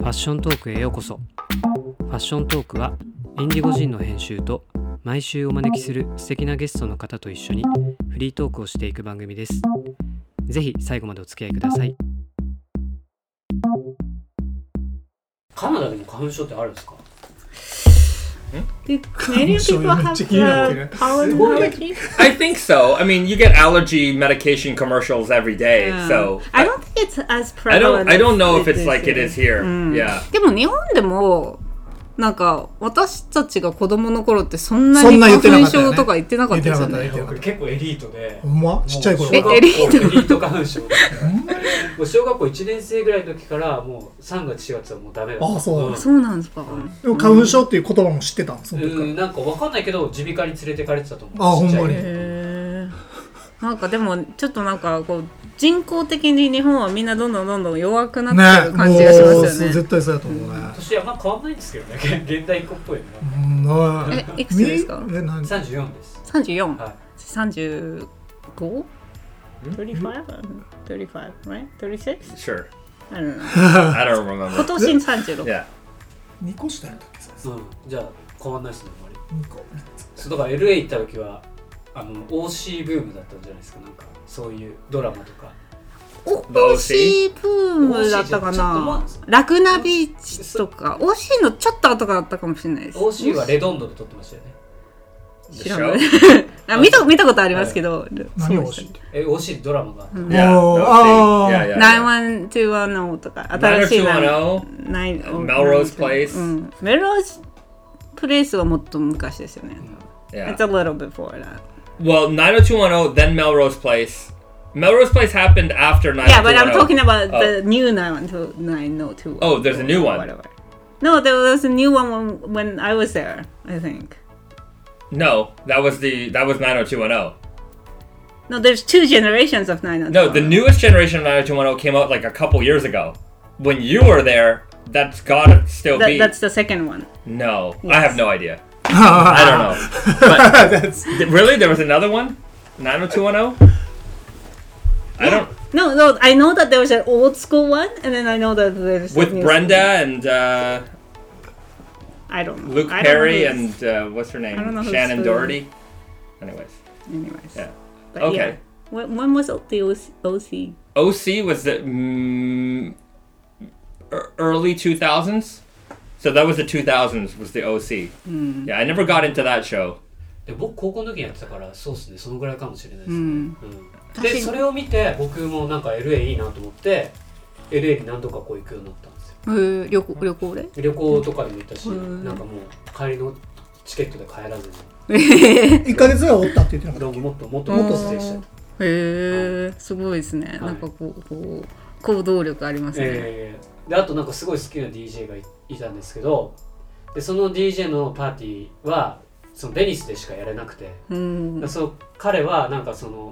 ァッショントークへようこそ。ファッショントークはインディゴジンの編集と毎週お招きする素敵なゲストの方と一緒にフリートークをしていく番組です。ぜひ最後までお付き合いください。カナダでも花粉症ってあるんですか Canadian people have pollen allergy? I think so. I mean, you get allergy medication commercials every day, so I don't think it's as prevalent. I don't know if it's like it is here. Yeah. でも日本でもなんか私たちが子供の頃ってそんなに花粉症とか言ってなかったですよね。 結構エリートで。 ほんまちっちゃい頃。 エリート花粉症。もう小学校1年生ぐらいの時からもう3月4月はもうダメだった。 あ、そう。 そうなんですか。 でも花粉症っていう言葉も知ってたんですか。 なんかわかんないけど耳鼻科に連れてかれてたと思う。 あ、ほんまに。 なんかでもちょっとなんかこう人工的に日本はみんなどんどん弱くなってる感じがしますよね。 絶対そうだと思うね。 年はまあ変わんないんですけどね。現代っ子っぽいね。いくつですか ？34です。 34。 はい。 35？ 35? 35, right? 36? Sure. I don't know. I don't remember. 今年36。 Yeah. 2個下やったっけ？ じゃあ変わんないですねあんまり。 2個。 そうだから LA 行った時はOC ブームだったんじゃないですか。なんかそういうドラマとか。 OC ブームだったかな。ラグナビーチとか OC のちょっと後があったかもしれないです。 OC はレドンドで撮ってましたよね。 知らない。見たことありますけど。 何 OC って？ OC ドラマがあった。 91210とか新しい 910 Melrose Place。Melrose Place はもっと昔ですよね。It's a little before that. Well, 90210, then Melrose Place. Melrose Place happened after 90210. Yeah, but I'm talking about the new 902. Oh, there's a new one. Whatever. No, there was a new one when I was there, I think. No, that was 90210. No, there's two generations of 90210. No, the newest generation of 90210 came out like a couple years ago. When you were there, that's gotta still be. That's the second one. No, yes. I have no idea. I don't know. But really? There was another one? 90210? I don't... No, I know that there was an old school one, and then I know that there's... With Brenda and... I don't know. Luke Perry and... what's her name? Shannon Doherty? Anyways. Yeah. But okay. Yeah. When was the OC? OC was the early 2000s? So that was the 2000s, was the OC. Yeah, I never got into that show. 僕高校の時にやってたからそうですね、そのぐらいかもしれないですね。で、それを見て僕もなんか LA いいなと思って LA に何度かこう行くようになったんですよ。 旅行で？ 旅行とかでも行ったし、なんかもう帰りのチケットで帰らずに。 1ヶ月ぐらいおったって言ってなかったっけ？ もっとステイした。 すごいですね。なんかこう行動力ありますね。 であとなんかすごい好きな DJ がいたんですけど、でその DJ のパーティーはそのベニスでしかやれなくて、そう彼はなんかその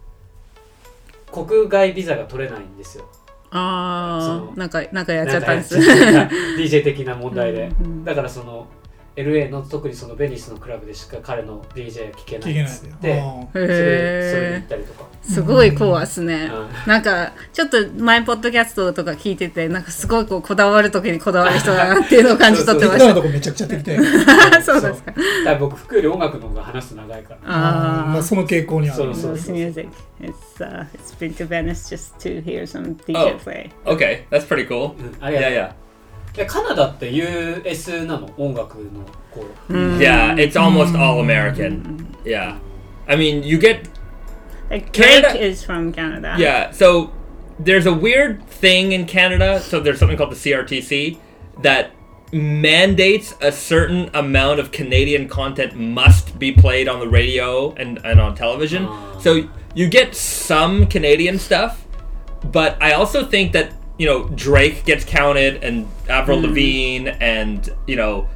国外ビザが取れないんですよ。 なんかやっちゃったんです。 DJ 的な問題で、だからその LA の特にそのベニスのクラブでしか彼の DJ が聴けないっつってそれに行ったりとか。 すごいコアっすね。なんかちょっと前ポッドキャストとか聞いててなんかすごいこだわる時にこだわる人だなっていうのを感じ取ってました。 今のとこめちゃくちゃ適当。 そうですか。 僕服より音楽の方が話すと長いから。 まあその傾向にある。 そう。Music. It's been to Venice just to hear some DJ play. Okay, that's pretty cool. Yeah. カナダって US なの音楽のこう。 Yeah, it's almost all American. Yeah, I mean you get. Like Drake is from Canada. Yeah, so there's a weird thing in Canada. So there's something called the CRTC that mandates a certain amount of Canadian content must be played on the radio and on television. So you get some Canadian stuff, but I also think that, you know, Drake gets counted and Avril Lavigne and, you know...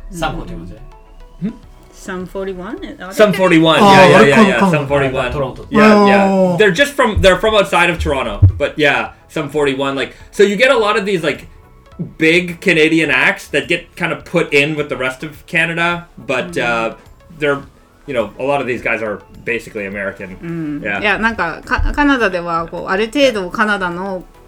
Sum 41? Sum 41, yeah. Sum 41. Yeah. They're from outside of Toronto, but yeah, Sum 41. Like, so you get a lot of these like big Canadian acts that get kind of put in with the rest of Canada, but they're, you know, a lot of these guys are basically American. Yeah. いやなんかカナダではこうある程度カナダの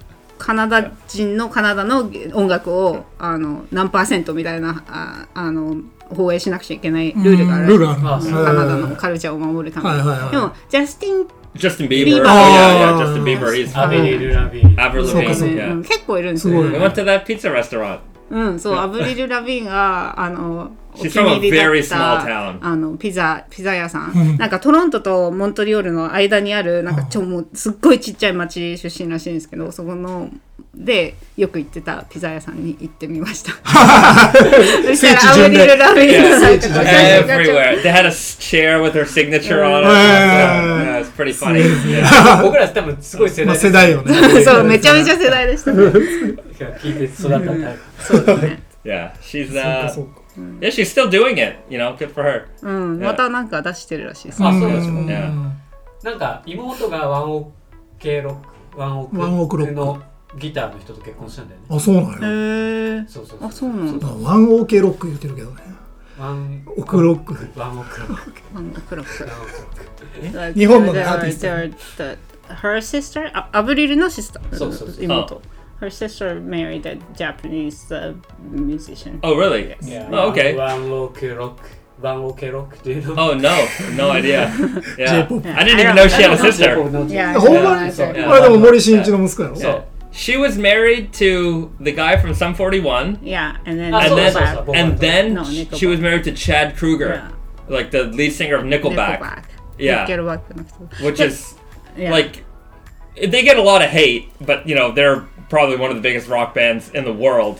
カナダ人のカナダの音楽を何%みたいな放映しなくちゃいけないルールがある。 ルールある。 カナダのカルチャーを守るために。でもジャスティン Justin Bieber. Bieber. Oh, yeah, Justin Bieber. He's Avril Lavigne. Avril そうか Lavigne. そう Yeah. 結構いるんですよ。 We went to that pizza restaurant. そう、アブリル・ラビーンがお She's 気に入りだ from a very っ small た town. ピザ屋さん、なんかトロントとモントリオールの間にあるなんかもうすっごいちっちゃい町出身らしいんですけど、そこのでよく行ってたピザ屋さんに行ってみました。そしたらアブリル・ラビーンのなんか写真がちょっ Everywhere. They had a chair with her signature on it. Yeah, it's pretty funny. Yeah. 僕ら多分すごい世代です。 世代よね。 とそうめちゃめちゃ世代でしたね。 聞いて育ったタイプ。 そうですね。 Yeah, she's そうかそうか。 yeah, she's still doing it. You know, good for her. またなんか出してるらしいです。 あ、そうですよ。 Yeah. なんか妹がワンオクロックのギターの人と結婚したんだよね。 あ、そうなんへや。 ー。 そうそうあ、そうなんだ。 ワンオーケーロック言ってるけどね。 ワンオクロック。 ワンオクロック。 クロック。 日本のアーティスト。 Her sister? アブリルのシスター。 そうそうそう。 妹。Her sister married a Japanese musician. Oh, really? Yeah. Oh, okay. ワンオクロック。ワンオケロックっていうの。 Oh, no idea. Yeah. J-pop. I didn't even know she had a sister. Yeah, ほんまにそうやあれでも森進一の息子やろ。 Yeah. She was married to the guy from Sum 41. Yeah, and then And so. then, and then No, she Nickelback. was married to Chad Kruger, Yeah. like the lead singer of Nickelback. Yeah. Nickelback の人。 Which is Yeah. like they get a lot of hate, but you know they're probably one of the biggest rock bands in the world.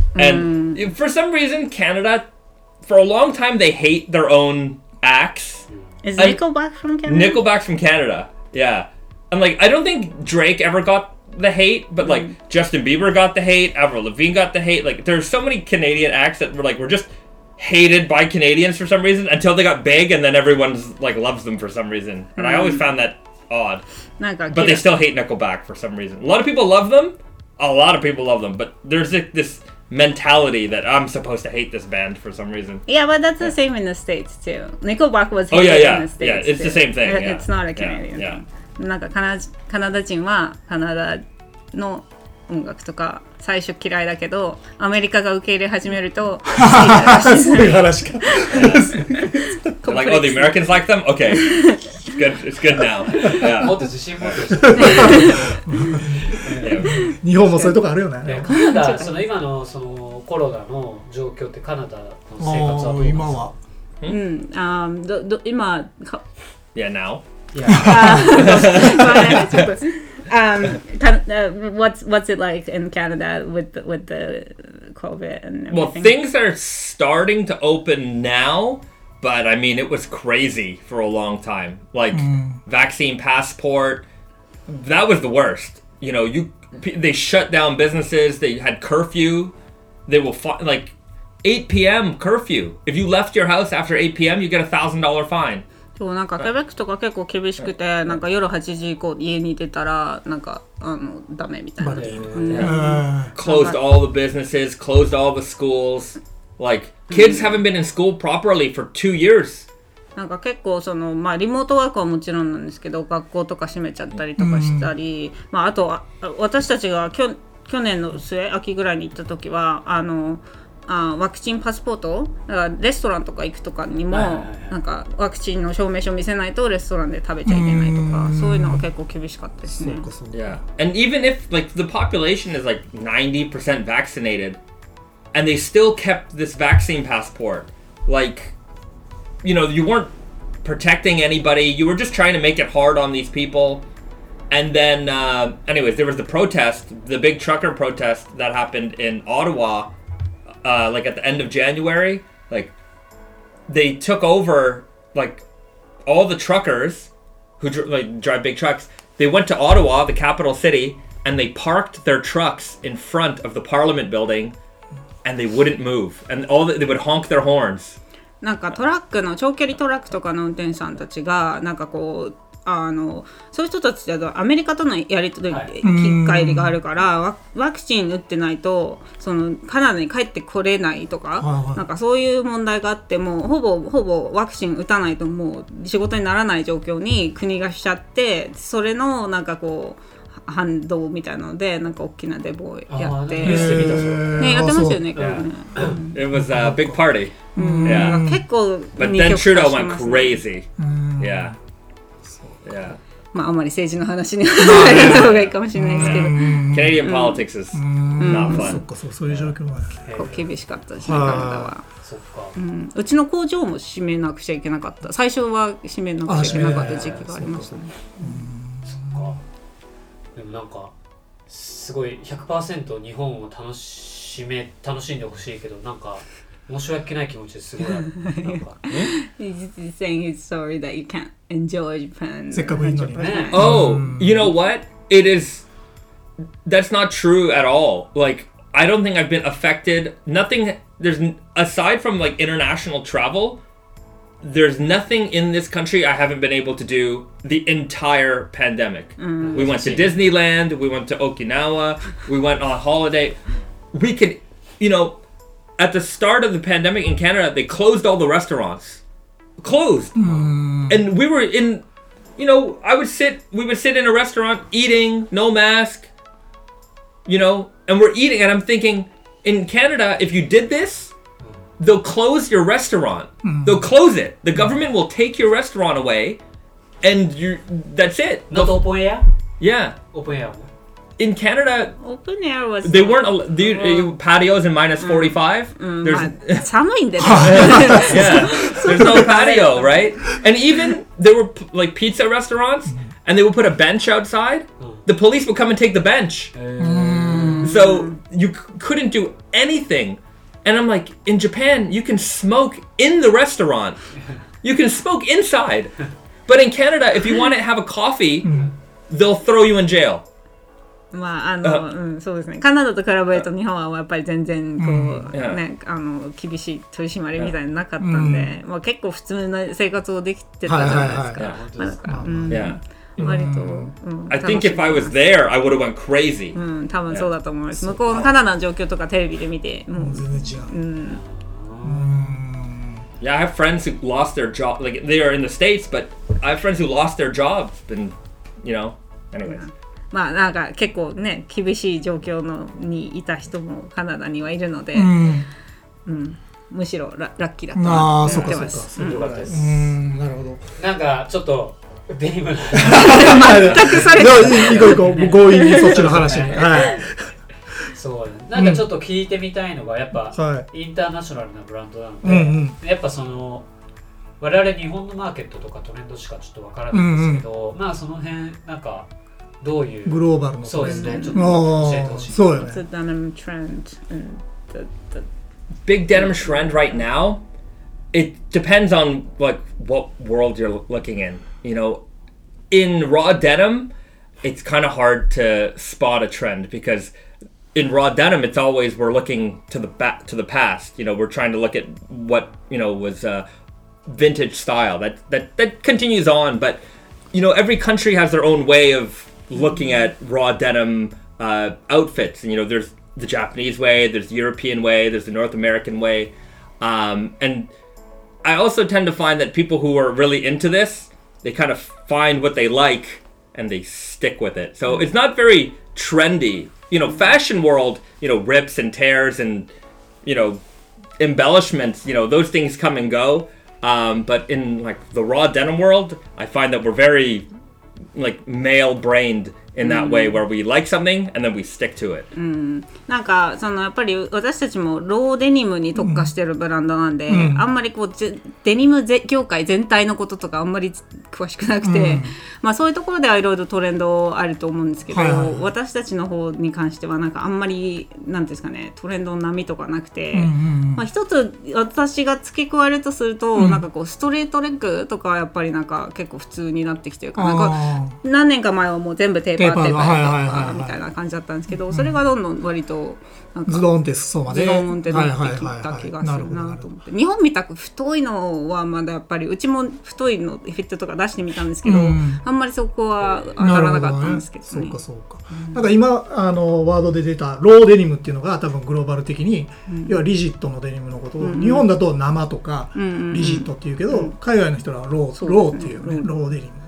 And for some reason, Canada, for a long time, they hate their own acts. Is And- Nickelback from Canada? Nickelback's from Canada, yeah. And like I don't think Drake ever got the hate, but like Justin Bieber got the hate, Avril Lavigne got the hate. Like there's so many Canadian acts that were just hated by Canadians for some reason until they got big, and then everyone's like loves them for some reason. And I always found that odd. なんか But they still hate Nickelback for some reason. A lot of people love them. A lot of people love them. But there's this mentality that I'm supposed to hate this band for some reason. Yeah, but that's the same in the States too. Nickelback was Oh, yeah, hated yeah. in the States. Yeah, it's the same thing, too. yeah. It's not a Canadian Yeah, thing. なんかカナダ人はカナダの音楽とか最初嫌いだけどアメリカが受け入れ始めると好きになるらしいですそういう話か。 They're like, oh, the Americans like them? Okay. It's good. It's good now. も Yeah. っと自信持ってほしい。 Yeah. 日本もそういうとこあるよねね。 カナダ、その今のそのコロナの状況ってカナダの生活はどうなんですか？ 今は。 今 Yeah, now. いや、 what's it like in Canada with the COVID and Well, everything? things are starting to open now, but I mean, it was crazy for a long time. Like, vaccine passport, that was the worst. You know, they shut down businesses, they had curfew, they will like 8 p.m. curfew. If you left your house after 8 p.m., you get $1,000 fine. そうなんかケベックとか結構厳しくてなんか夜8時以降家に出たらなんかダメみたいな。 Closed all the businesses, closed all the schools. Like, kids haven't been in school properly for 2 years. なんか結構まあリモートワークはもちろんなんですけど学校とか閉めちゃったりとかしたり、まああとは私たちが去年の秋ぐらいに行った時はワクチンパスポートだからレストランとか行くとかにもなんかワクチンの証明書見せないとレストランで食べちゃいけないとかそういうのが結構厳しかったですね。 Yeah. And even if like the population is like 90% vaccinated and they still kept this vaccine passport, like, you know, you weren't protecting anybody. You were just trying to make it hard on these people. And then, anyways, there was the protest, the big trucker protest that happened in Ottawa, like at the end of January. Like, they took over, like, all the truckers who drive big trucks. They went to Ottawa, the capital city, and they parked their trucks in front of the Parliament building, and they wouldn't move. And they would honk their horns. なんか長距離トラックとかの運転手さんたちがなんかこうそういう人たちだとアメリカとのやり取り、機会があるからワクチン打ってないとカナダに帰ってこれないとか、なんかそういう問題があってもほぼワクチン打たないともう仕事にならない状況に国がしちゃってそれのなんかこう反動みたいなのでなんか大きなデモをやってニュースで見たぞねやってましたよねこれね It was a big party. Yeah. 結構 But 二 then 極化 Trudeau し went ますね crazy. Yeah. Yeah. まああまり政治の話に入らない方がいいかもしれないですけど Canadian politics is not そっ fun. かそういう状況が結構厳しかったですねカナダは。 そっかうちの工場も閉めなくちゃいけなかった最初は閉めなくちゃいけなかった時期がありましたね。 でもなんかすごい 100% 日本を楽しんでほしいけどなんか申し訳ない気持ちですごいあるなんか He's saying he's sorry that you can't enjoy Japan. せっかくいいのにね。 Oh, you know what? It is. That's not true at all. Like, I don't think I've been affected. Nothing. There's aside from like international travel. There's nothing in this country I haven't been able to do the entire pandemic. We went to Disneyland. We went to Okinawa. We went on holiday. We could, you know, at the start of the pandemic in Canada, they closed all the restaurants. Closed. And we were in, you know, we would sit in a restaurant eating, no mask, you know, and we're eating. And I'm thinking, in Canada, if you did this, they'll close your restaurant. They'll close it. The government will take your restaurant away, and that's it. Not open air? Yeah. Open air In Canada, Open air was they weren't patios in minus 45. まあ寒いんでね Yeah, there's no patio, right? And even there were like pizza restaurants, and they would put a bench outside. The police would come and take the bench. So you couldn't do anything. And I'm like, in Japan, you can smoke in the restaurant. You can smoke inside. But in Canada, if you want to have a coffee, they'll throw you in jail. まあそうですねカナダと比べると日本はやっぱり全然こう、ね厳しい取り締まりみたいなのなかったんで、まあ、結構普通な生活をできてたじゃないですか。まあだから Yeah. 割と、 I think if I was there, I would have went crazy. 多分そうだと思います。向こうのカナダの状況とかテレビで見てもう全然違う。 Yeah, I have friends who lost their job. Like, they are in the States, but I have friends who lost their jobs. And, you know, anyways. まあなんか結構ね厳しい状況にいた人もカナダにはいるので、むしろラッキーだったなって思ってます。 よかったです。 なるほど。 なんかちょっとデニム全くそれ行こう強引にそっちの話に。はい。 そうなんかちょっと聞いてみたいのがやっぱ、インターナショナルなブランドなので、やっぱその我々日本のマーケットとかトレンドしかちょっとわからないんですけど、まあその辺なんかどういうグローバルのそうですねちょっと教えてほしい。 そうよね。 The denim trend and the Big denim trend right now, it depends on like what world you're looking in. You know, in raw denim, it's kind of hard to spot a trend because in raw denim, it's always we're looking to the past. You know, we're trying to look at what was vintage style that continues on. But you know, every country has their own way of looking at raw denim outfits. And, you know, there's the Japanese way, there's the European way, there's the North American way. And I also tend to find that people who are really into this, they kind of find what they like and they stick with it. So it's not very trendy. You know, fashion world, you know, rips and tears and, you know, embellishments, you know, those things come and go. But in like the raw denim world, I find that we're very like male-brained in that way where we like something and then we stick to it. なんかそのやっぱり私たちもローデニムに特化してるブランドなんで、あんまりこうデニム業界全体のこととかあんまり詳しくなくて、まあそういうところではいろいろトレンドあると思うんですけど、私たちの方に関してはなんかあんまりなんですかねトレンドの波とかなくて、まあ一つ私が付け加えるとすると、なんかこうストレートレッグとかはやっぱりなんか結構普通になってきてるから、なんか何年か前はもう全部テーパーみたいな感じだったんですけど、それがどんどん割となんかズドンって裾までズドンってなってきた気がするなと思って、日本みたく太いのはまだやっぱりうちも太いのフィットとか出してみたんですけど、あんまりそこは当たらなかったんですけどね。 そうかそうか。なんか今ワードで出たローデニムっていうのが多分グローバル的に、要はリジットのデニムのことを、日本だと生とかリジットっていうけど、海外の人らはローっていうね、ローデニム。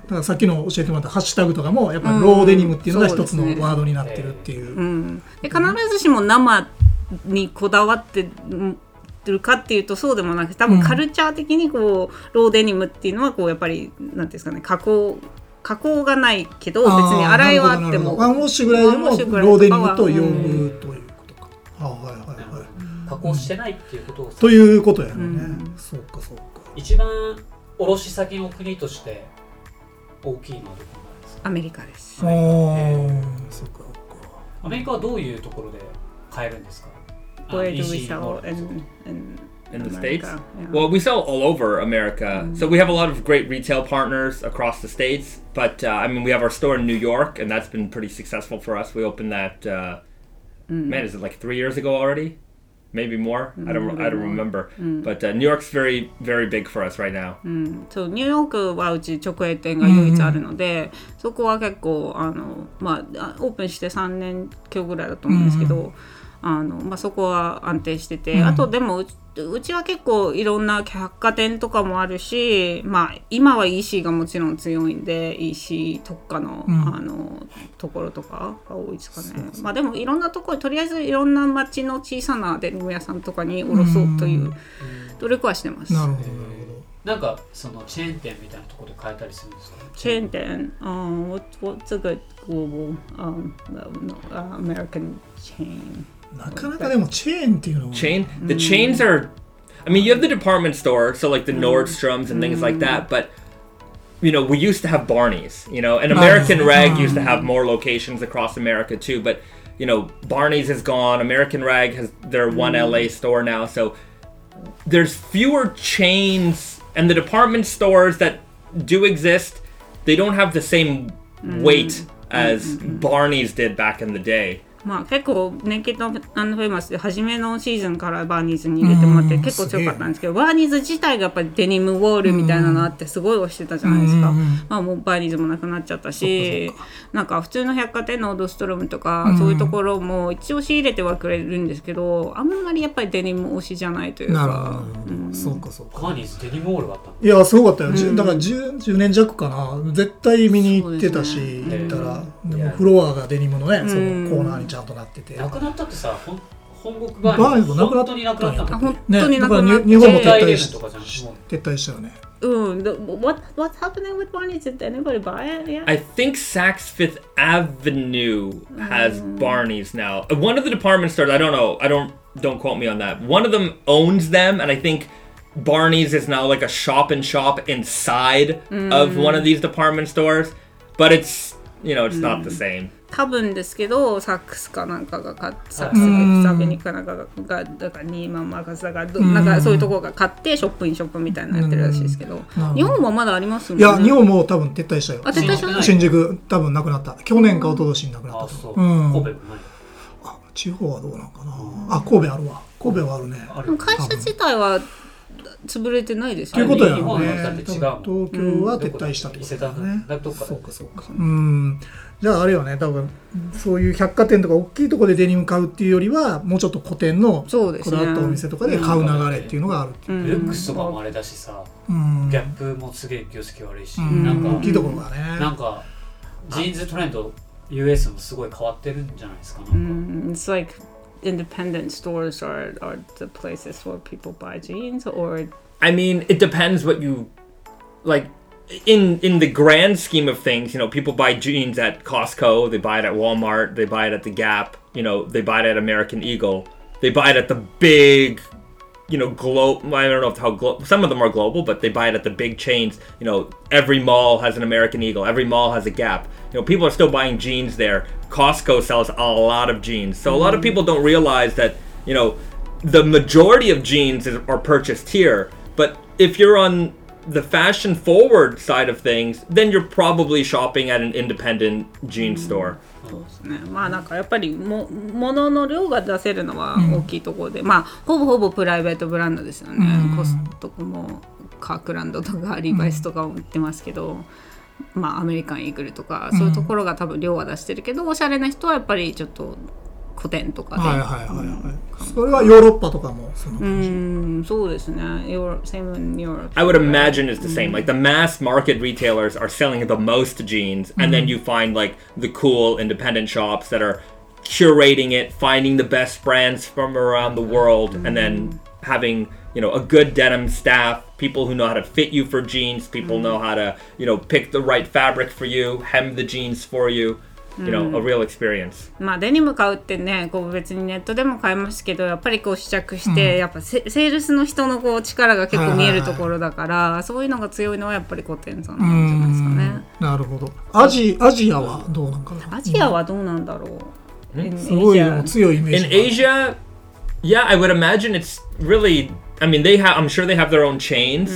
からさっきの教えてもらったハッシュタグとかもやっぱりローデニムっていうのが一つのワードになってるっていう、 で必ずしも生にこだわってるかっていうとそうでもなくて、多分カルチャー的にこうローデニムっていうのはこうやっぱりなんていうんですかね、加工がないけど別に洗いはあってもワンウォッシュぐらいでもローデニムと呼ぶということか。 加工してないっていうことをということやろね。そうかそうか。 一番卸先の国として大きいのはどこなんですか？ アメリカです。 そうか。 アメリカはどういうところで買えるんですか ？Where do we sell in the States? Yeah. Well, we sell all over America. So we have a lot of great retail partners across the States. But, I mean, we have our store in New York, and that's been pretty successful for us. We opened that, man, is it like 3 years ago already? Maybe more? I don't remember. But New York's very, very big for us right now. そう、ニューヨークはうち直営店が唯一あるので、そこは結構オープンして3年今日ぐらいだと思うんですけど、そこは安定してて、あとでもうちは結構いろんな百貨店とかもあるし、今は EC がもちろん強いんで EC 特化の、ところとかが多いですかね。でもいろんなところ、とりあえずいろんな町の小さなデニム屋さんとかに卸そうという努力はしてます。 なるほど。 なんかそのチェーン店みたいなところで買えたりするんですか？ チェーン店、what's a good global American chain? なかなかでもチェーンっていうのは The chains are, I mean, you have the department store, so like the Nordstroms and things like that, but you know, we used to have Barney's, you know, and American Rag used to have more locations across America too, but you know, Barney's is gone, American Rag has their one LA store now, so there's fewer chains, and the department stores that do exist, they don't have the same weight as Barney's did back in the day. 結構ネイキッド&フェイマスで初めのシーズンからバーニーズに入れてもらって結構強かったんですけど、バーニーズ自体がやっぱりデニムウォールみたいなのあってすごい推してたじゃないですか。もうバーニーズもなくなっちゃったし、なんか普通の百貨店のオードストロムとかそういうところも一応仕入れてはくれるんですけど、あんまりやっぱりデニム推しじゃないというか。 なるほど、そうかそうか。 バーニーズデニムウォールがあった。 いやすごかったよ、だから 10年弱かな、絶対見に行ってたし、行ったらでもフロアがデニムのね、そのコーナーにちゃんとなってて、 なくなったってさ、本国バーニーズなくなった本当になくなったんだ。 本当になくなった。 ね、だから日本も撤退したよね。 What's happening with Barney's? Did anybody buy it yet? I think Saks Fifth Avenue has Barney's now. One of the department stores, I don't know, don't quote me on that. One of them owns them, and I think Barney's is now like a shop inside of one of these department stores. But it's, you know, it's not the same. 多分ですけど、サックスかなんかが買って、サックスフィフスアベニューかなんかがだからニーマンマーカスだからなんかそういうところが買ってショップインショップみたいなのやってるらしいですけど、日本もまだありますもんね。 いや日本も多分撤退したよ。 撤退した。 新宿多分なくなった。去年か一昨年になくなったと。 そう。神戸もない。 地方はどうなんかな。神戸あるわ。神戸はあるね。 会社自体は潰れてないですよね。ということやろね。 東京は撤退したってことだね。そうかそうか。じゃああれよね、多分そういう百貨店とか大きいところでデニム買うっていうよりはもうちょっと古典のこだわったお店とかで買う流れっていうのがあるっていう。 ルックスとかもあれだしさ、ギャップもすげえ業績悪いし、なんか大きいところがね。 なんかジーンズトレンド US もすごい変わってるんじゃないですか。 It's like independent stores are the places where people buy jeans, or I mean, it depends what you like. In the grand scheme of things, you know, people buy jeans at Costco, they buy it at Walmart, they buy it at the Gap, you know, they buy it at American Eagle, they buy it at the big, you know, I don't know how some of them are global, but they buy it at the big chains. You know, every mall has an American Eagle, every mall has a Gap. You know, people are still buying jeans there. Costco sells a lot of jeans. So a lot of people don't realize that, you know, the majority of jeans are purchased here. But if you're on the fashion forward side of things, then you're probably shopping at an independent jean store. そうですね。なんかやっぱり物の量が出せるのは大きいところで、ほぼプライベートブランドですよね。コストコもカークランドとかリバイスとかも売ってますけど、アメリカンイーグルとかそういうところが多分量は出してるけど、おしゃれな人はやっぱりちょっと個展とかで、 はいはいはいはい、それはヨーロッパとかもその感じ。 そうですね。Same in Europe. I would imagine it's the same. Like the mass market retailers are selling the most jeans, and then you find like the cool independent shops that are curating it, finding the best brands from around the world, and then having, you know, a good denim staff, people who know how to fit you for jeans, people know how to, you know, pick the right fabric for you, hem the jeans for you, you know, a real experience. まあデニム買うってね、こう別にネットでも買えますけど、やっぱりこう試着して、やっぱセールスの人のこう力が結構見えるところだから、そういうのが強いのはやっぱり個展さんなんじゃないですかね。 なるほど。アジアはどうなんかな。 アジアはどうなんだろう。 すごい強いイメージ。 In Asia, yeah, I would imagine it's really. I mean, I'm sure they have their own chains.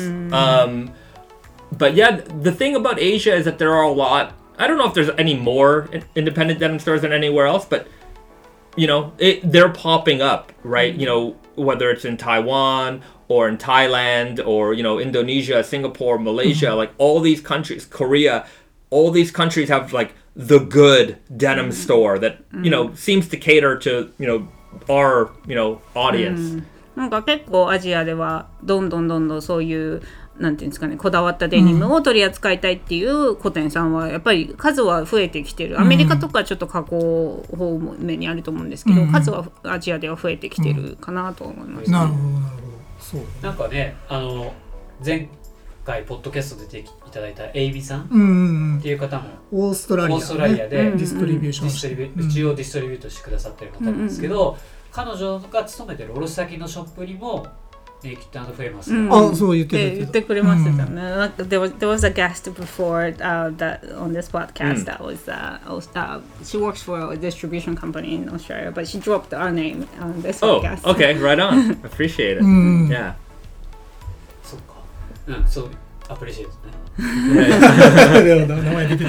But yeah, the thing about Asia is that there are a lot. I don't know if there's any more independent denim stores than anywhere else, but you know, they're popping up, right? You know, whether it's in Taiwan or in Thailand or, you know, Indonesia, Singapore, Malaysia, like all these countries, Korea, all these countries have like the good denim store that, you know, seems to cater to, you know, our, you know, audience. なんか結構アジアではどんどんそういうなんていうんですかね、こだわったデニムを取り扱いたいっていう個展さんはやっぱり数は増えてきてる。アメリカとかちょっと加工方面にあると思うんですけど、数はアジアでは増えてきてるかなと思います、ね。 なるほどなるほど。そう。 なんかね、前回ポッドキャストで出ていただいたエイビさんっていう方もオーストラリアでディストリビューションして一応ディストリビュートしてくださってる方なんですけど、彼女が勤めてる卸先のショップにもネイキッド&フェイマスあ、そう言ってくれましたよね。なんかthere was a guest before that on this podcast that was she works for a distribution company in Australia, but she dropped our name on this podcast. Oh, okay, right on. Appreciate it. Yeah. そっか。そうアプリシエイトね。 名前出てない。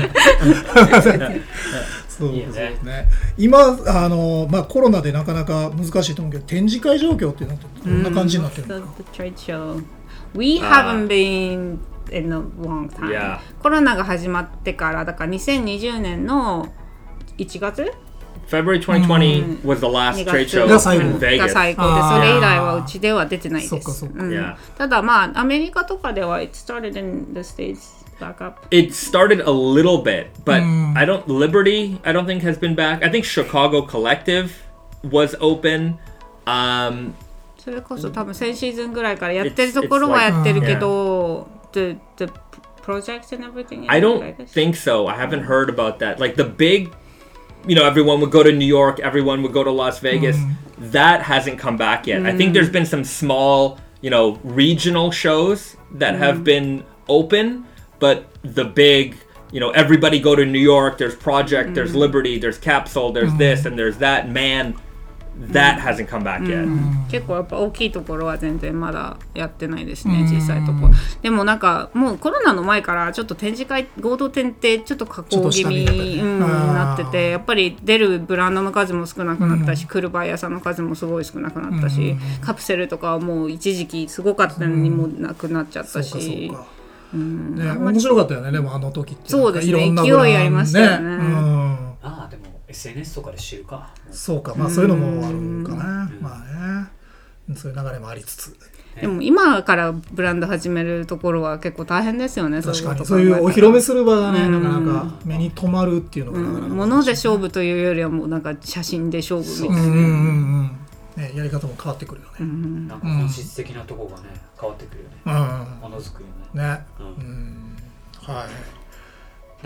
そうですね。今まあコロナでなかなか難しいと思うけど、展示会状況っていうのはどんな感じになってるのか。 The trade show. We haven't been in a long time. Yeah. コロナが始まってからだから2020年の1月。 February 2020 was the last trade show in Vegas. が最高で、それ以来はうちでは出てないです。 そっかそっか。 ただまあアメリカとかでは it started in the States back up. It started a little bit, but Liberty I don't think has been back. I think Chicago Collective was open. それこそ多分先シーズンぐらいからやってるところはやってるけど、the projects and everything. I don't think so. I haven't heard about that. Like the big, you know, everyone would go to New York, everyone would go to Las Vegas. That hasn't come back yet. I think there's been some small, you know, regional shows that have been open, but the big, you know, everybody go to New York, there's Project, there's Liberty, there's Capsule, there's this and there's that. Man, that hasn't come back yet. 結構やっぱ大きいところは全然まだやってないですね、小さいところ。でもなんかもうコロナの前からちょっと展示会合同展ってちょっと加工気味になってて、やっぱり出るブランドの数も少なくなったし、来るバイヤーさんの数もすごい少なくなったし、カプセルとかはもう一時期すごかったのにもなくなっちゃったし、 面白かったよね。でもあの時ってそうですね、勢いありましたよね。 ああでもSNS とかで知るか。 そうか、まあそういうのもあるかな。まあね、そういう流れもありつつ。 でも今からブランド始めるところは結構大変ですよね。 確かにそういうお披露目する場がね、なかなか目に留まるっていうのがなかなか物で勝負というよりはもうなんか写真で勝負みたいなね、やり方も変わってくるよね。 なんか本質的なところがね変わってくるよね。ものづくりね。はい。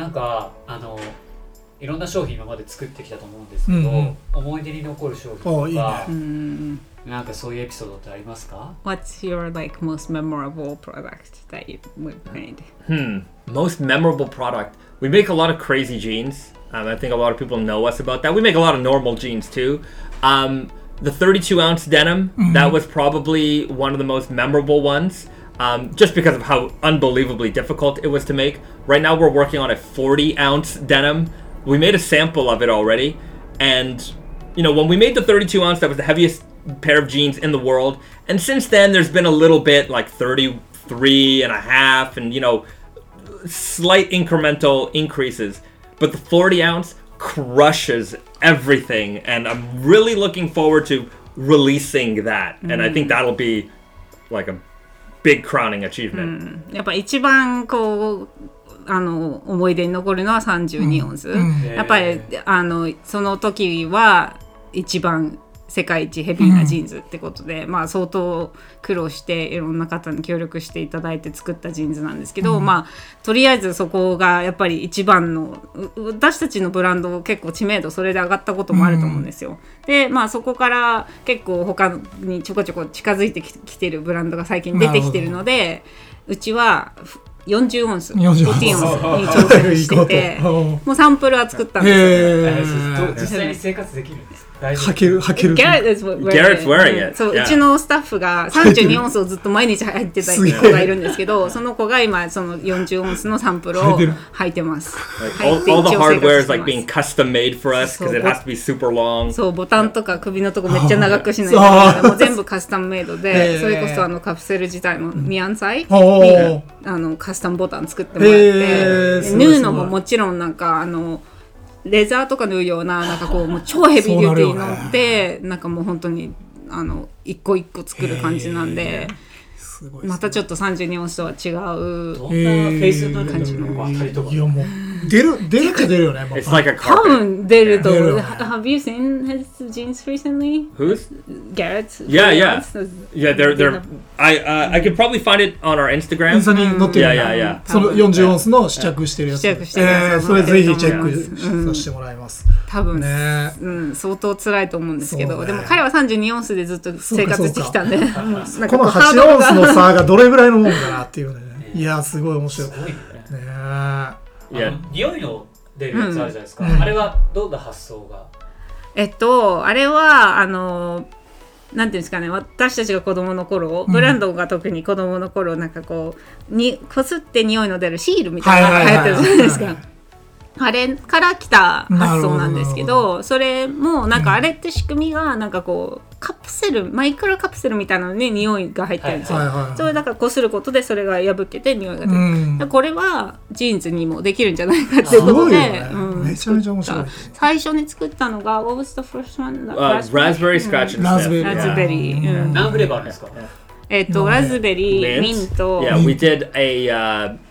なんかいろんな商品今まで作ってきたと思うんですけど、思い出に残る商品とか、なんかそういうエピソードってありますか？ What's your like most memorable product that you made? Most memorable product. We make a lot of crazy jeans. I think a lot of people know us about that. We make a lot of normal jeans too. The 32-ounce denim, that was probably one of the most memorable ones. Just because of how unbelievably difficult it was to make. Right now we're working on a 40-ounce denim. We made a sample of it already, and you know, when we made the 32-ounce, that was the heaviest pair of jeans in the world, and since then there's been a little bit like 33 and a half and, you know, slight incremental increases, but the 40-ounce crushes everything, and I'm really looking forward to releasing that, and I think that'll be like a big crowning achievement. やっぱ一番こう思い出に残るのは32オンス、やっぱりその時は一番世界一ヘビーなジーンズってことで、まあ相当苦労していろんな方に協力していただいて作ったジーンズなんですけど、まあとりあえずそこがやっぱり一番の私たちのブランド結構知名度それで上がったこともあると思うんですよ。でまあそこから結構他にちょこちょこ近づいてきてるブランドが最近出てきてるので、うちは40オンス、40オンスに挑戦しててもうサンプルは作ったんですよ。 実際に生活できるんですか？ 履ける。 Garrett's wearing it. そう、うちのスタッフが32オンスをずっと毎日履いてた子がいるんですけど、その子が今その40オンスのサンプルを履いてます。 All the hardware is like being custom made for us because it has to be super long. そう、ボタンとか首のとこめっちゃ長くしないといけない。もう全部カスタムメイドで、それこそカプセル自体もミアンサイにカスタムボタン作ってもらって、縫うのももちろんなんかレザーとか縫うようななんかこうもう超ヘビーデューティーに乗ってなんかもう本当に一個一個作る感じなんで、またちょっと32オンスとは違うどんなフェイスになる感じの当たりとか。 いやもう出るよね。 It's like a 多 carpet. 分出ると思う。Have you seen his jeans recently? Who's? Garrett's? Yeah. They're. I could probably find it on our イン Instagram. スタに載ってる。 Yeah. その40オンスの試着してるやつ。 試着してるやつそれぜひチェックさせてもらいます。 多分ね、 相当辛いと思うんですけど、 そうね、 でも彼は32オンスでずっと生活してきたんで、なんかこの8オンスの差がどれぐらいのもんかなっていうね。いやすごい面白い。 すごいね。 Yeah. 匂いの出るやつあるじゃないですか。あれはどんな発想が？ あれはなんていうんですかね、私たちが子供の頃、ブランドが特に子供の頃なんかこうこすって匂いの出るシールみたいなのが流行ってるじゃないですか。あれから来た発想なんですけど、それもなんかあれって仕組みがなんかこうカプセルマイクロカプセルみたいなのに匂いが入ってるんですよ。それだからこすることでそれが破けて匂いが出る。これはジーンズにもできるんじゃないかっていうことで、 めちゃめちゃ面白い。 最初に作ったのが What was the first one? Raspberry Scratch and Sniff. ラズベリー。 何フレーバーあるんですか？ ラズベリー、ミント。 Yeah, we did a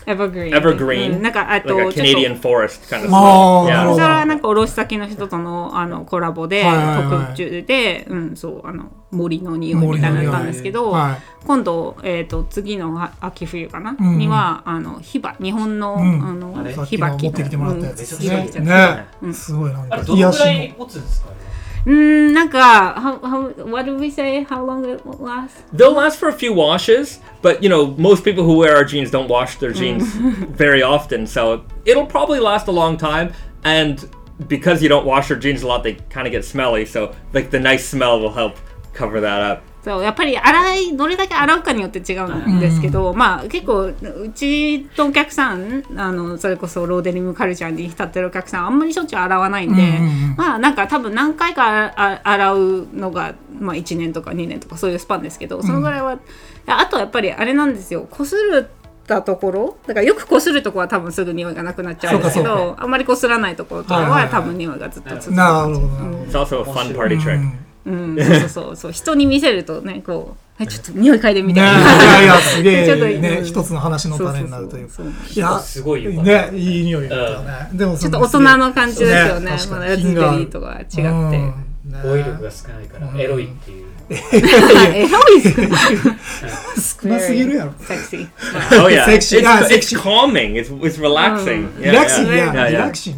evergreen. なんか like a Canadian forest kind of stuff. Yeah. それはなんか卸先の人とのコラボで特注で、森の匂いみたいなのだったんですけど、今度次の秋冬かなには日本のヒバキ持ってきてもらったやつですね。すごいなんかどのくらい持つんですか？ なんか what do we say? How long it will last? They'll last for a few washes, but most people who wear our jeans don't wash their jeans very often, so it'll probably last a long time. And because you don't wash your jeans a lot, they kind of get smelly. So like the nice smell will help cover that up. そうやっぱりどれだけ洗うかによって違うんですけど、まあ結構うちのお客さんそれこそローデニムカルチャーに浸ってるお客さんあんまりしょっちゅう洗わないんで、まあなんか多分何回か洗うのが、まあ、1年とか2年とかそういうスパンですけど、そのぐらいは、あとやっぱりあれなんですよ、こするたところだからよくこするところは多分すぐ匂いがなくなっちゃうんですけど、あんまりこすらないところとかは多分匂いがずっと続く。 なるほど。 It's also a fun party trick. そう人に見せるとねこうちょっと匂い嗅いでみたいな。いやすげえね一つの話の種になるというか。いやすごいねいい匂いだったね。でもちょっと大人の感じですよね。ラズベリーとか違って。 語彙力が少ないからエロいっていう。 エロい少なすぎるやろ。 Sexy. Oh yeah. It's calming. It's relaxing. Relaxing.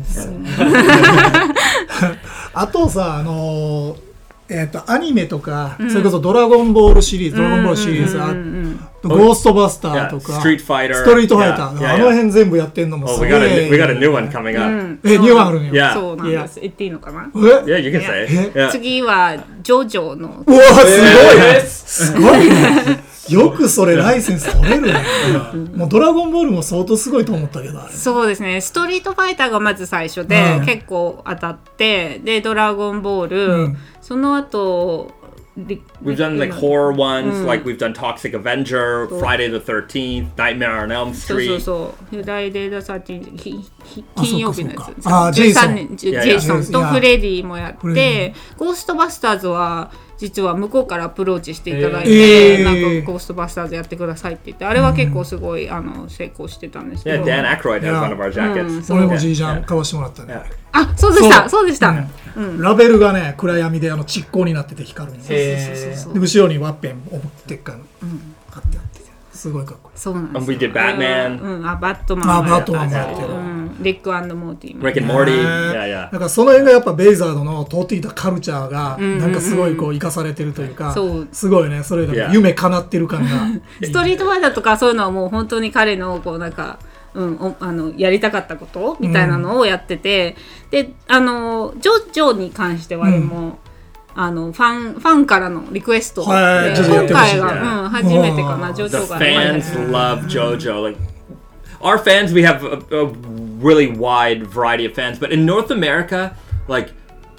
あとさアニメとかそれこそドラゴンボールシリーズ、ゴーストバスターとかストリートファイターあの辺全部やってんのもすごい。 We got a new one coming up. ニューワンあるんや。そうなんです。言っていいのかな？ Yeah, you can say. 次はジョジョの。 うわすごいね。よくそれライセンス取れるね。もうドラゴンボールも相当すごいと思ったけどあれ。 そうですね。ストリートファイターがまず最初で、結構当たって、でドラゴンボール、その後 We've done like horror ones, like we've done Toxic Avenger, Friday the 13th, Nightmare on Elm そう Street. フライデー・ザ・13金曜日のやつあ、ジェイソン。 13年ジェイソンとフレディもやってゴーストバスターズは実は向こうからアプローチしていただいて、なんかゴーストバスターズやってくださいって言って、あれは結構すごい成功してたんですけど。 Yeah, Dan Aykroyd has one of our jackets. 俺も G ジャン買わしてもらったね。 あ、そうでしたそうでした。 ラベルがね暗闇で蓄光になってて光るんです。で後ろにワッペンを持ってっから貼ってあってすごいかっこいい。 そうなんです。 And we did Batman. バットマンもやった。 バットマンもやってる。 リック&モーティーも。 Rick and Morty. Yeah, なんかその辺がやっぱベイザードの通っていたカルチャーがなんかすごいこう生かされてるというか、すごいねそれが夢叶ってる感が。 ストリートファイターとかそういうのはもう本当に彼のこうなんか。やりたかったことみたいなのをやってて、でジョに関してはでも、ファンからのリクエストで、今回が、初めてかな、ジョジョが The fans love JoJo. Like our fans, we have a really wide variety of fans, but in North America, like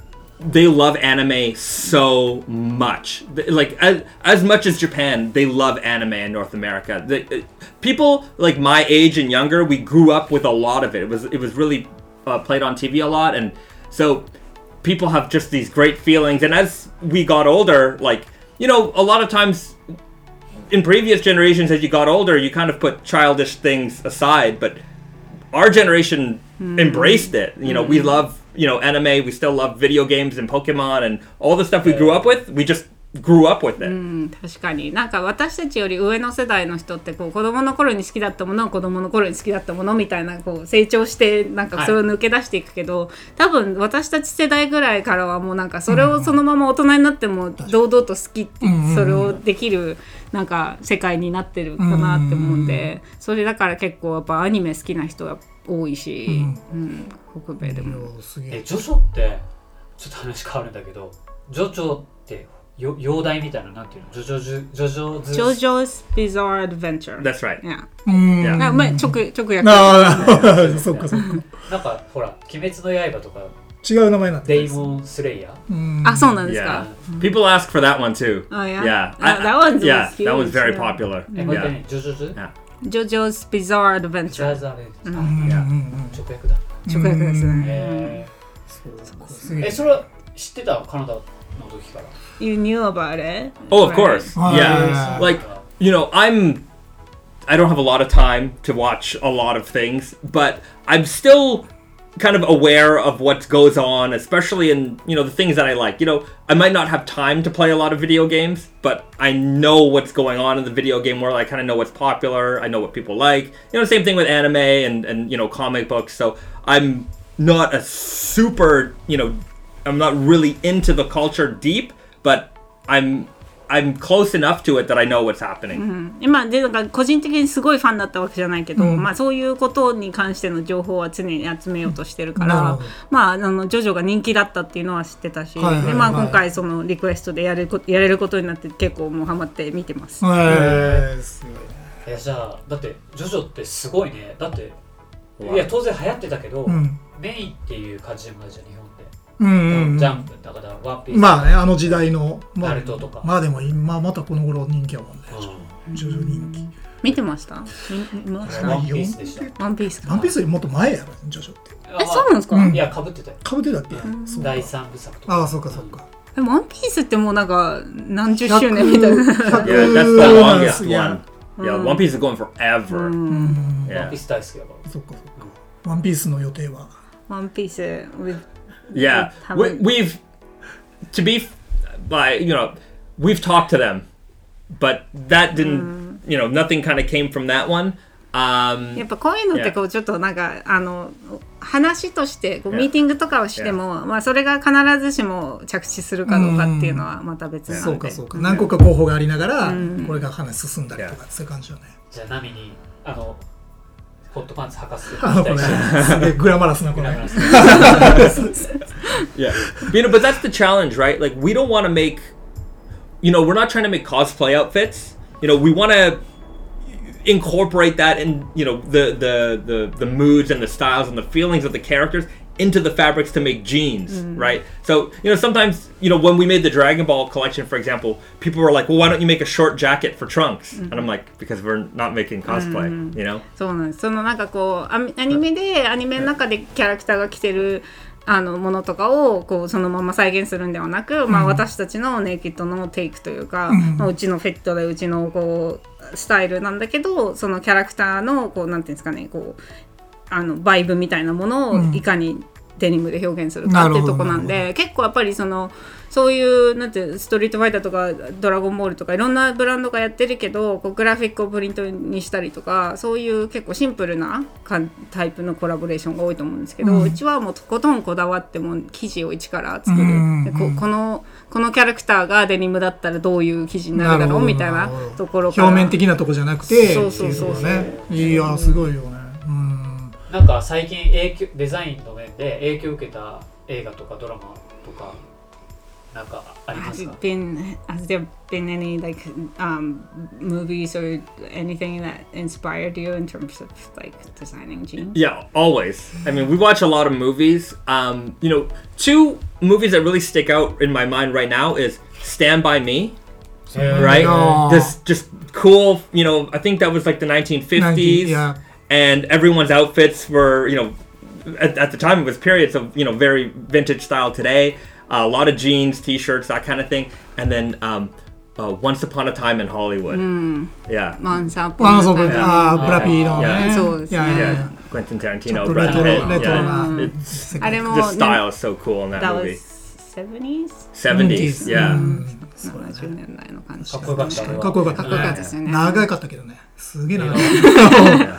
they love anime so much. Like as much as Japan, they love anime in North America. People like my age and younger, we grew up with a lot of it. It was really played on TV a lot, and so people have just these great feelings. And as we got older, like a lot of times in previous generations, as you got older, you kind of put childish things aside, but our generation embraced it. We love anime, we still love video games and Pokemon and all the stuff we grew up with, we just grew up with it. 確かになんか私たちより上の世代の人ってこう子供の頃に好きだったものは子供の頃に好きだったものみたいなこう成長してなんかそれを抜け出していくけど、多分私たち世代ぐらいからはもうなんかそれをそのまま大人になっても堂々と好きってそれをできるなんか世界になってるかなって思うんで、それだから結構やっぱアニメ好きな人が多いし、北米でも。 ジョジョってちょっと話変わるんだけど、ジョジョって妖題みたいななんていうの？ジョジョBizarre Adventure. That's right. Yeah. Yeah. 直訳。 そうかそうか。 なんかほら鬼滅の刃とか違う名前なんデイモンスレイヤー。 あ、そうなんですか。 People ask for that one too. Oh yeah. Yeah. That one's yeah. huge. That was very popular. Yeah. ジョジョズ？ JoJo's Bizarre Adventure. 直訳だ。 直訳ですね。 それは知ってたカナダの時から。 You knew about it? Oh, of course. Yeah. Like, I don't have a lot of time to watch a lot of things, but I'm still kind of aware of what goes on, especially in, the things that I like. I might not have time to play a lot of video games, but I know what's going on in the video game world. I kind of know what's popular. I know what people like. Same thing with anime and comic books. So I'm not a super, I'm not really into the culture deep, but I'm close enough to it that I know what's happening. 今でなんか個人的にすごいファンだったわけじゃないけど、そういうことに関しての情報は常に集めようとしてるから、ジョジョが人気だったっていうのは知ってたし、で今回そのリクエストでやれることになって結構もうハマって見てます。 すごいね。じゃあだってジョジョってすごいね。だっていや当然流行ってたけど、メインっていう感じじゃないじゃん日本で。ジャンプだからワンピース。 まあねあの時代のナルトとか。 まあでも今またこの頃人気やもんね。ジョジョ人気。 見てました？ ワンピースでした。 ワンピースか。 ワンピースよりもっと前やろジョジョって。 そうなんですか？ いや被ってたよ。 被ってたっけ？ 第3部作とか。 あ、そうかそうか。 でもワンピースってもうなんか何十周年みたいな。 Yeah, that's the longest one. Yeah, One Piece is going forever. ワンピース大好きやから。 そうかそうか。ワンピースの予定は。 ワンピース Yeah, we've to be we've talked to them, but that didn't, nothing kind of came from that one. やっぱこういうのってこうちょっとなんか話としてこうミーティングとかをしても、まあそれが必ずしも着地するかどうかっていうのはまた別なので、 そうかそうか、何個か候補がありながらこれが話進んだりとかそういう感じよね。 じゃあナミにホットパンツ履かせてすげえグラマラスなこれ。 Yeah, but that's the challenge, right? Like we don't want to make, we're not trying to make cosplay outfits. We want to incorporate that in, the moods and the styles and the feelings of the characters into the fabrics to make jeans, right? So, sometimes, when we made the Dragon Ball collection, for example, people were like, well, why don't you make a short jacket for Trunks? And I'm like, because we're not making cosplay, そうなんです。そのなんかこうアニメの中でキャラクターが着てるものとかをこうそのまま再現するんではなく、私たちのネイキッドのテイクというか、うちのフィットでうちのこうスタイルなんだけど、そのキャラクターのこうなんていうんですかね、こうバイブみたいなものをいかにデニムで表現するかっていうとこなんで、結構やっぱりそういうなんてストリートファイターとかドラゴンボールとかいろんなブランドがやってるけど、こうグラフィックをプリントにしたりとか、そういう結構シンプルなタイプのコラボレーションが多いと思うんですけど、うちはもうとことんこだわっても生地を一から作る、でこのキャラクターがデニムだったらどういう生地になるだろうみたいなところから、 表面的なとこじゃなくて、 そうね、 いやすごいよね。 なんか最近デザインの面で影響を受けた映画とかドラマとかなんかありますか？ Has there been any like movies or anything that inspired you in terms of like designing jeans? Yeah, always. I mean, we watch a lot of movies. Two movies that really stick out in my mind right now is Stand By Me. Right? This just cool, I think that was like the 1950s. Yeah. And everyone's outfits were, at the time it was periods of, very vintage style today. A lot of jeans, t-shirts, that kind of thing. And then Once Upon a Time in Hollywood. Yeah. Once Upon a Time. ブラピのね。 そうですね。 Yeah. Quentin Tarantino, Brad Pitt. Yeah. The style is so cool in that movie. That was 70s? Yeah. 70年代の感じ。 かっこよかった。 かっこよかった。 かっこよかったですよね。 長かったけどね。すげえ長かった。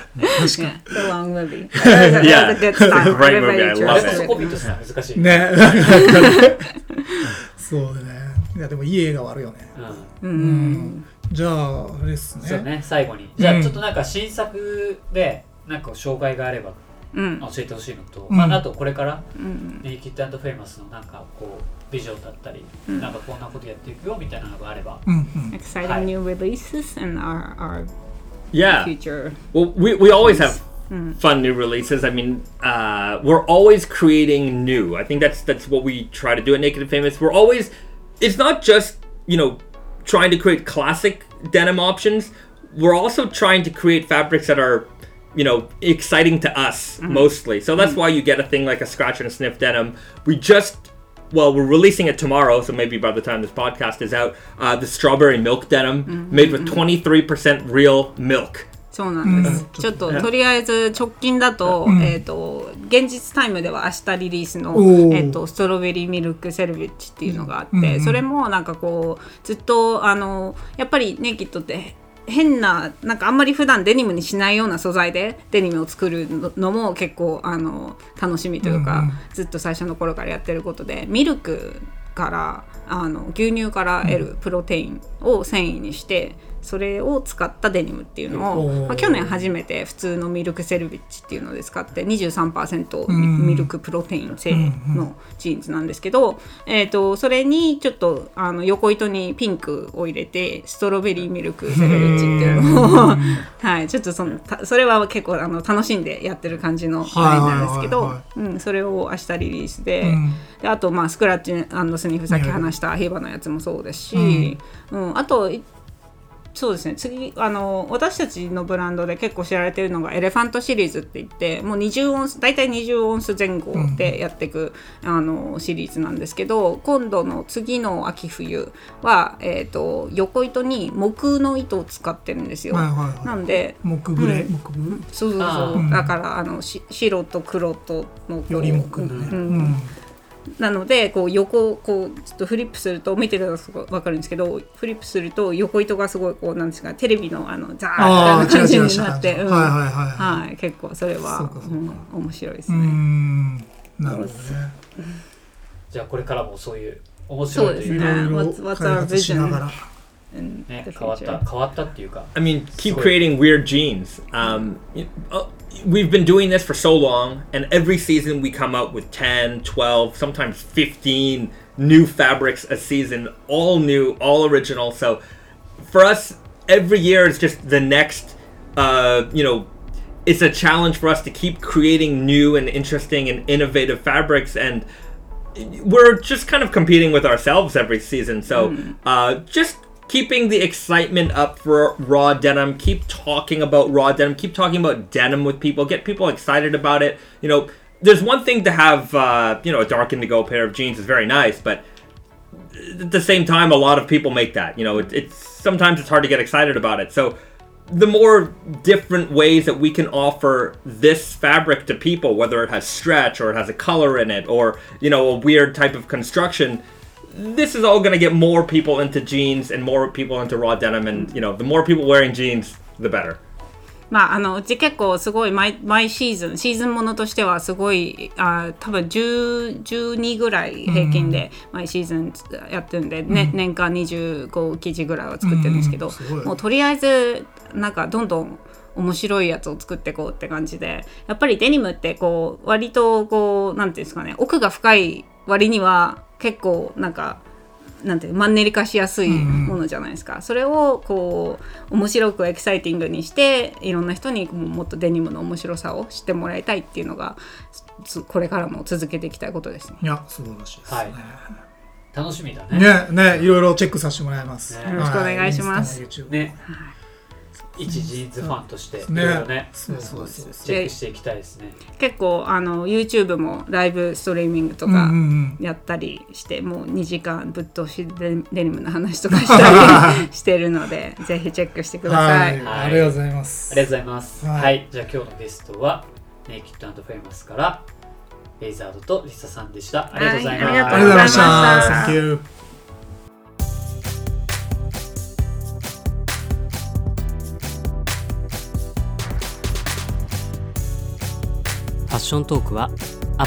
確かに。 The long movie. Yeah. That's a good style. Great movie. I love そ it. こビットするの難しい。 ね。そうね。いやでもいい映画はあるよね。じゃああれですね。 そうね、最後に。じゃあちょっとなんか新作でなんか紹介があれば教えてほしいのと、あとこれからネイキッド&フェイマスのなんかこうビジョンだったり、なんかこんなことやっていくよみたいなのがあれば。 Exciting new releases and our Yeah. future. Well, we always have fun new releases. I mean, we're always creating new. I think that's what we try to do at Naked and Famous. We're always, it's not just, trying to create classic denim options. We're also trying to create fabrics that are, exciting to us mostly. So that's why you get a thing like a scratch and a sniff denim. We're releasing it tomorrow, so maybe by the time this podcast is out, the strawberry milk denim made with 23% real milk. そうなんです。ちょっととりあえず直近だと、現実タイムでは明日リリースの、ストロベリーミルクセルビッチっていうのがあって、それもなんかこうずっとやっぱりネイキッドって変ななんかあんまり普段デニムにしないような素材でデニムを作るのも結構楽しみというか、ずっと最初の頃からやってることで、ミルクから牛乳から得るプロテインを繊維にしてそれを使ったデニムっていうのを、去年初めて普通のミルクセルビッチっていうので使って 23% ミルクプロテイン製のジーンズなんですけど、それにちょっと横糸にピンクを入れてストロベリーミルクセルビッチっていうのをはい、ちょっとそれは結構楽しんでやってる感じのラインなんですけど、それを明日リリースで、あとスクラッチ&スニフさっき話したヒバのやつもそうですし、あとそうですね、次私たちのブランドで結構知られているのがエレファントシリーズって言って、もう20オンス大体20オンス前後でやっていく、シリーズなんですけど、今度の次の秋冬は、横糸に木の糸を使ってるんですよ。なんで木グレ、 そうそうそう、だから白と黒とのより木ね、 なのでこう横こうちょっとフリップすると見てると分かるんですけど、フリップすると横糸がすごいこうなんですか、テレビのザーみたいな感じになって、はい、結構それは面白いですね。 なるほどね。 じゃあこれからもそういう面白いというか、 What's our vision? ね、変わったっていうか。 I mean, keep creating weird jeans. We've been doing this for so long, and every season we come out with 10, 12, sometimes 15 new fabrics a season, all new, all original. So for us, every year is just the next, it's a challenge for us to keep creating new and interesting and innovative fabrics, and we're just kind of competing with ourselves every season. So just keeping the excitement up for raw denim, keep talking about raw denim, keep talking about denim with people, get people excited about it. You know, there's one thing to have, a dark indigo pair of jeans is very nice, but at the same time, a lot of people make that. You know, sometimes it's hard to get excited about it. So the more different ways that we can offer this fabric to people, whether it has stretch or it has a color in it or, a weird type of construction, this is all going to get more people into jeans and more people into raw denim. And, the more people wearing jeans, the better. うち結構すごい毎シーズンものとしてはすごい多分12ぐらい平均で毎シーズンやってるんで、年間25記事ぐらいは作ってるんですけど、もうとりあえずなんかどんどん面白いやつを作っていこうって感じで、やっぱりデニムってこう割とこうなんていうんですかね、奥が深い割には結構なんてマンネリ化しやすいものじゃないですか。それをこう面白くエキサイティングにしていろんな人にもっとデニムの面白さを知ってもらいたいっていうのがこれからも続けていきたいことですね。 いや素晴らしいですね、はい、 楽しみだね。 いろいろチェックさせてもらいます、 よろしくお願いします。 一ジーンズファンとしていろいろね、チェックしていきたいですね。 結構YouTube もライブストリーミングとかやったりして、もう2時間ぶっ通しでデニムの話とかしたりしてるのでぜひチェックしてください。 ありがとうございます。 ありがとうございます。はい、じゃあ今日のゲストはネイキッド&フェイマスからレイザードとリサさんでした。ありがとうございます。 ありがとうございました。 Thank you。 ファッショントークは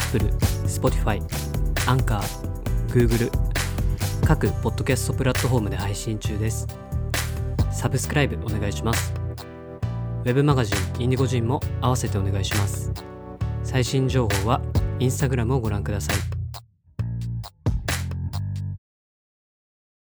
Apple、Spotify、Anchor、Google 各ポッドキャストプラットフォームで配信中です。サブスクライブお願いします。ウェブマガジンインディゴジンも合わせてお願いします。最新情報は Instagram をご覧ください。